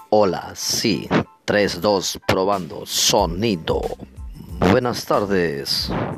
Hola, sí, 3, 2, probando, sonido. Buenas tardes.